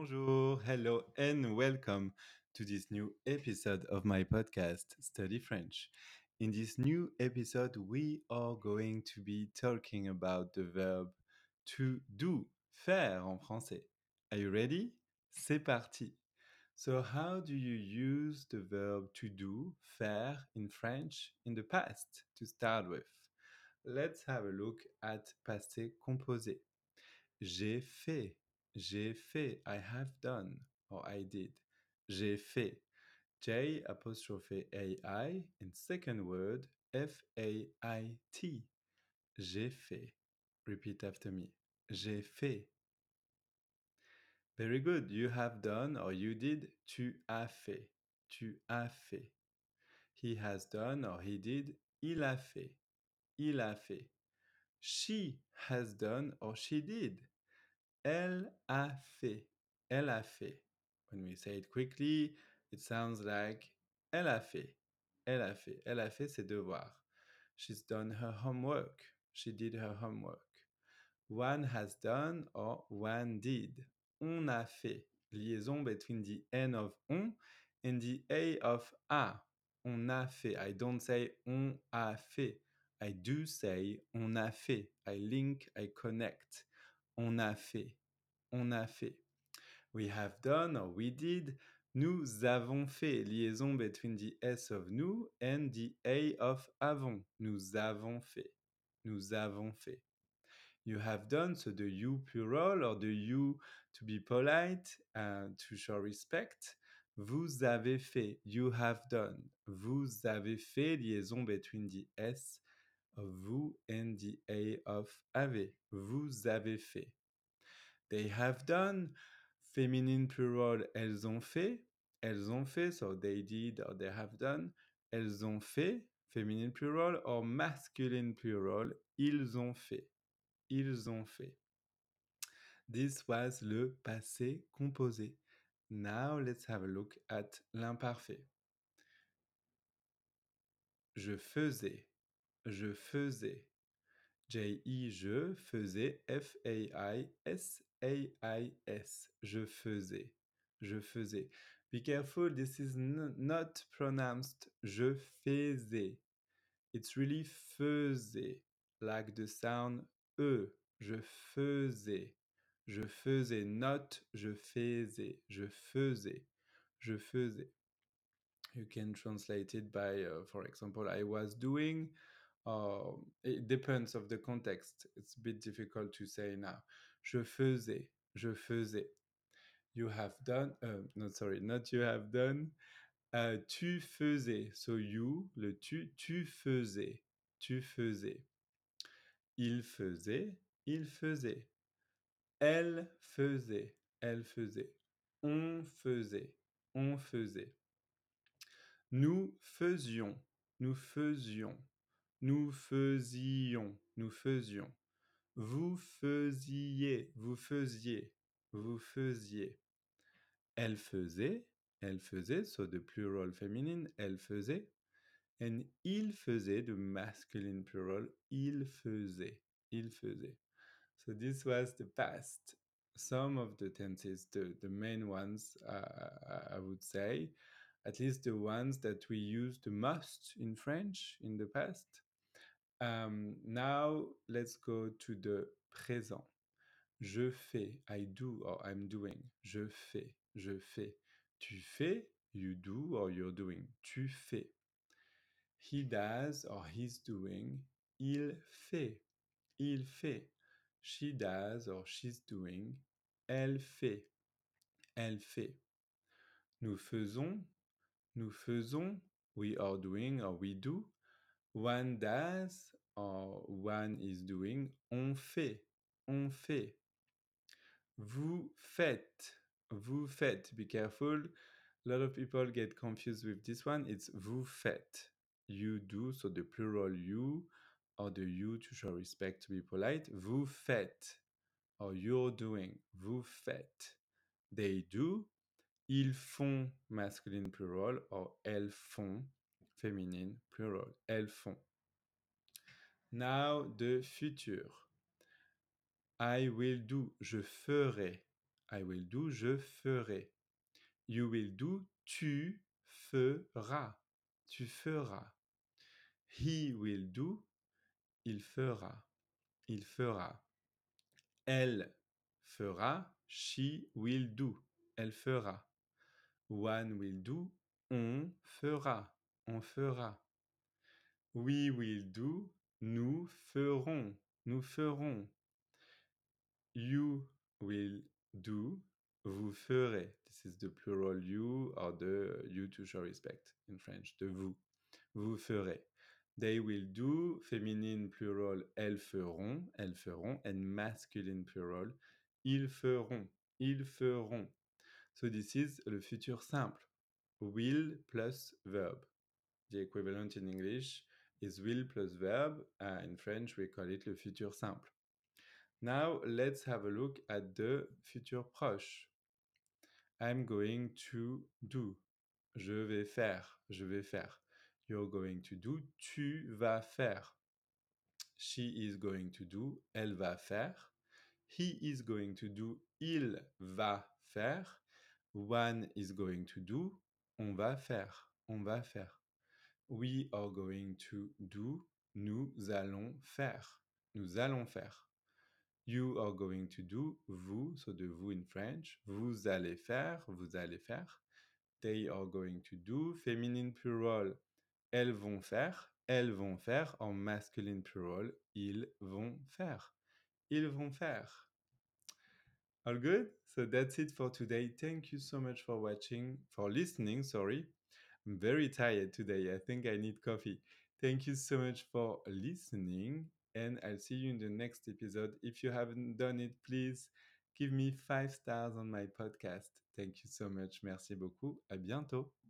Bonjour, hello, and welcome to this new episode of my podcast, Study French. In this new episode, we are going to be talking about the verb to do, faire en français. Are you ready? C'est parti. So, how do you use the verb to do, faire, in French in the past to start with? Let's have a look at passé composé. J'ai fait. J'ai fait. I have done. Or I did. J'ai fait. J apostrophe AI and second word F-A-I-T. J'ai fait. Repeat after me. J'ai fait. Very good. You have done or you did. Tu as fait. Tu as fait. He has done or he did. Il a fait. Il a fait. She has done or she did. Elle a fait. Elle a fait. When we say it quickly, it sounds like elle a fait. Elle a fait. Elle a fait ses devoirs. She's done her homework. She did her homework. One has done or one did. On a fait. Liaison between the N of on and the A of a. On a fait. I don't say on a fait. I do say on a fait. I link, I connect. On a fait. On a fait. We have done or we did. Nous avons fait. Liaison between the S of nous and the A of avons. Nous avons fait. Nous avons fait. You have done, so the you plural or the you to be polite, to show respect. Vous avez fait. You have done. Vous avez fait. Liaison between the S of vous and the A of avez. Vous avez fait. They have done. Féminine plural, elles ont fait. Elles ont fait, so they did or they have done. Elles ont fait. Féminine plural or masculine plural, ils ont fait. Ils ont fait. This was le passé composé. Now let's have a look at l'imparfait. Je faisais. Je faisais. J-I, je faisais. F-A-I-S-A-I-S. Je faisais. Je faisais. Be careful, this is not pronounced je faisais. It's really faisais, like the sound E. Je faisais. Je faisais, not je faisais. Je faisais. Je faisais. You can translate it by, for example, I was doing. It depends of the context. It's a bit difficult to say now. Je faisais. Je faisais. You have done. No, sorry, not you have done. Tu faisais. So you, le tu faisais. Tu faisais. Il faisait. Il faisait. Elle faisait. Elle faisait. On faisait. On faisait. Nous faisions. Nous faisions. Nous faisions. Nous faisions. Vous faisiez. Vous faisiez. Vous faisiez. Elle faisait. Elle faisait. So the plural féminine. Elle faisait. And il faisait, the masculine plural, il faisait. Il faisait. So this was the past. Some of the tenses, the main ones, I would say, at least the ones that we use the most in French in the past. Now let's go to the présent. Je fais, I do or I'm doing. Je fais, je fais. Tu fais, you do or you're doing. Tu fais. He does or he's doing. Il fait. Il fait. She does or she's doing. Elle fait. Elle fait. Nous faisons. Nous faisons. We are doing or we do. One does or one is doing. On fait. On fait. Vous faites. Vous faites. Be careful. A lot of people get confused with this one. It's vous faites. You do, so the plural you, or the you to show respect, to be polite. Vous faites, or you're doing. Vous faites. They do. Ils font, masculine plural, or elles font, féminine plural. Elles font. Now, the future. I will do. Je ferai. I will do, je ferai. You will do, tu feras. Tu feras. He will do, il fera. Il fera. Elle fera, she will do. Elle fera. One will do, on fera. On fera. We will do, nous ferons. Nous ferons. You will do, vous ferez. This is the plural you or the you to show respect in French. De vous. Vous ferez. They will do, féminine plural, elles feront, and masculine plural, ils feront, ils feront. So this is le futur simple. Will plus verb. The equivalent in English is will plus verb. In French, we call it le futur simple. Now, let's have a look at the futur proche. I'm going to do. Je vais faire, je vais faire. You're going to do, tu vas faire. She is going to do, elle va faire. He is going to do, il va faire. One is going to do, on va faire, on va faire. We are going to do, nous allons faire, nous allons faire. You are going to do, vous, so de vous in French. Vous allez faire, vous allez faire. They are going to do, féminine plural. Elles vont faire, en masculine plural. Ils vont faire, ils vont faire. All good? So that's it for today. Thank you so much for listening, sorry. I'm very tired today. I think I need coffee. Thank you so much for listening, and I'll see you in the next episode. If you haven't done it, please give me 5 stars on my podcast. Thank you so much. Merci beaucoup. À bientôt.